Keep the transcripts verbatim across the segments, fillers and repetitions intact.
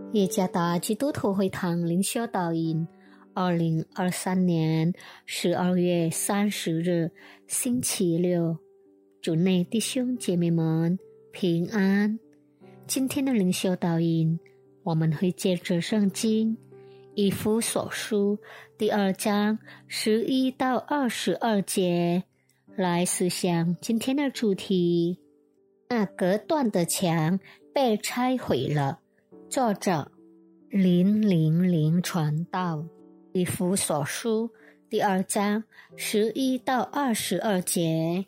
耶加达基督徒会堂灵修导引，二零二三年十二月三十日，星期六，主内弟兄姐妹们平安。今天的灵修导引，我们会借着圣经以弗所书第二章十一到二十二节来思想今天的主题。那隔断的墙被拆毁了。作者零零零传道，以弗所书第二章十一到二十二节。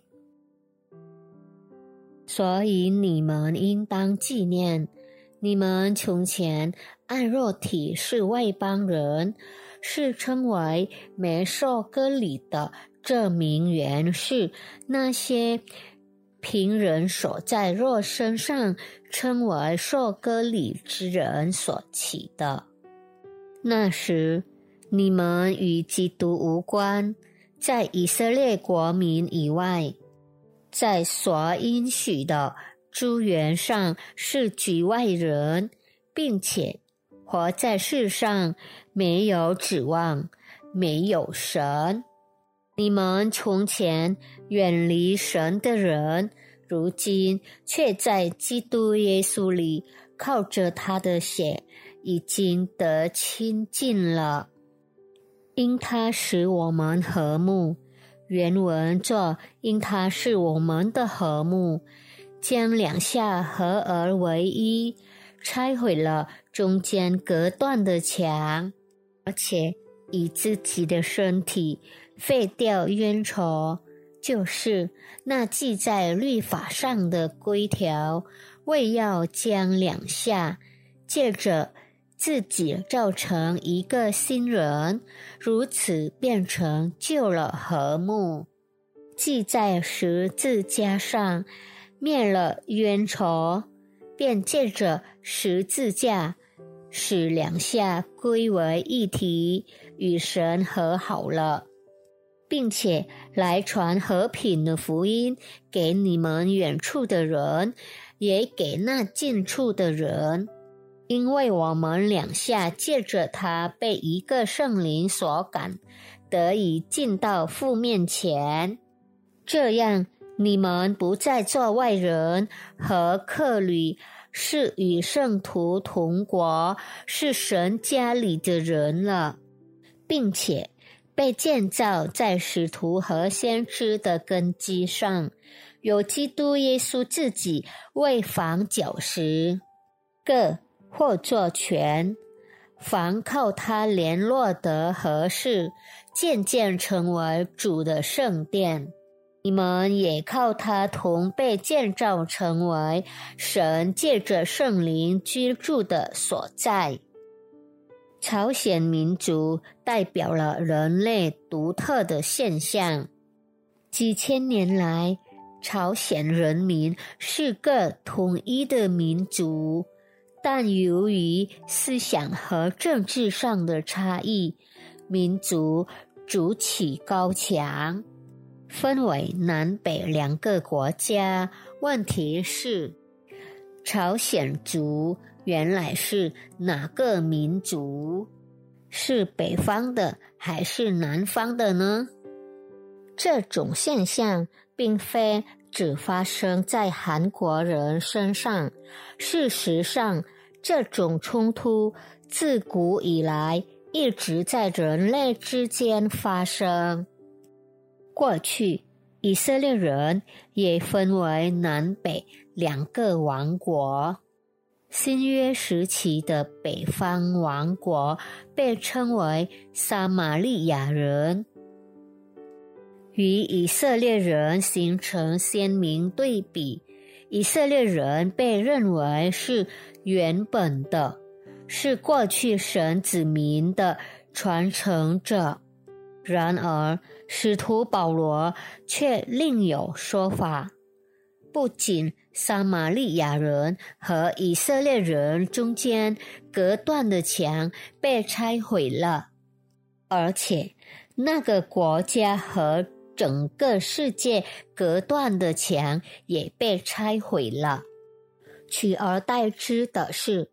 所以你们应当纪念，你们从前按肉体是外邦人，是称为没受割礼的，这名原是那些凭人所在肉身上称为受割礼之人所起的。那时你们与基督无关，在以色列国民以外，在所应许的诸缘上是局外人，并且活在世上没有指望，没有神。你们从前远离神的人，如今却在基督耶稣里靠着他的血已经得亲近了。因他使我们和睦，原文作因他是我们的和睦，将两下合而为一，拆毁了中间隔断的墙，而且以自己的身体废掉冤仇，就是那记在律法上的规条，为要将两下借着自己造成一个新人，如此变成旧了和睦。记在十字架上，灭了冤仇，便借着十字架使两下归为一体，与神和好了，并且来传和平的福音给你们远处的人，也给那近处的人。因为我们两下借着他被一个圣灵所感，得以进到父面前。这样你们不再做外人和客旅，是与圣徒同国，是神家里的人了，并且被建造在使徒和先知的根基上，有基督耶稣自己为房角石，各或作权，凡靠他联络得合适，渐渐成为主的圣殿。你们也靠他同被建造成为神借着圣灵居住的所在。朝鲜民族代表了人类独特的现象。几千年来，朝鲜人民是个统一的民族，但由于思想和政治上的差异，民族筑起高墙，分为南北两个国家。问题是，朝鲜族原来是哪个民族？是北方的还是南方的呢？这种现象并非只发生在韩国人身上，事实上，这种冲突自古以来一直在人类之间发生。过去，以色列人也分为南北两个王国。新约时期的北方王国被称为撒玛利亚人，与以色列人形成鲜明对比。以色列人被认为是原本的，是过去神子民的传承者。然而，使徒保罗却另有说法。不仅撒玛利亚人和以色列人中间隔断的墙被拆毁了，而且那个国家和整个世界隔断的墙也被拆毁了。取而代之的是，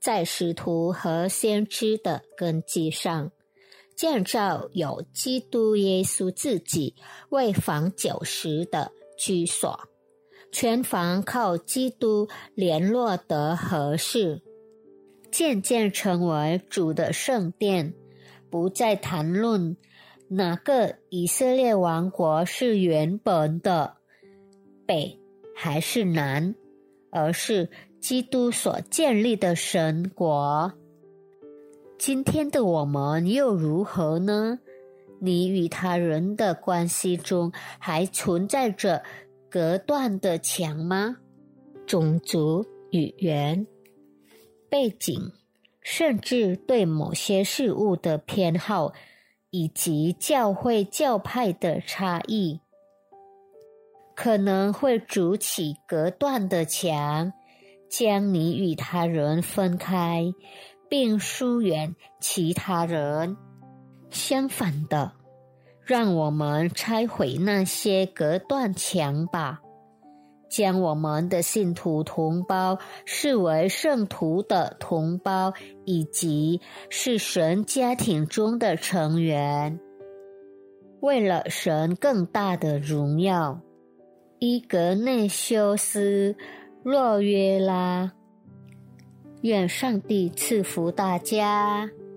在使徒和先知的根基上，建造有基督耶稣自己为房角石的居所，全房靠基督联络得合适，渐渐成为主的圣殿，不再谈论哪个以色列王国是原本的北还是南，而是基督所建立的神国。今天的我们又如何呢？你与他人的关系中还存在着隔断的墙吗？种族、语言、背景，甚至对某些事物的偏好，以及教会教派的差异，可能会筑起隔断的墙，将你与他人分开，并疏远其他人。相反的，让我们拆毁那些隔断墙吧，将我们的信徒同胞视为圣徒的同胞，以及是神家庭中的成员。为了神更大的荣耀，伊格内修斯·洛约拉。愿上帝赐福大家。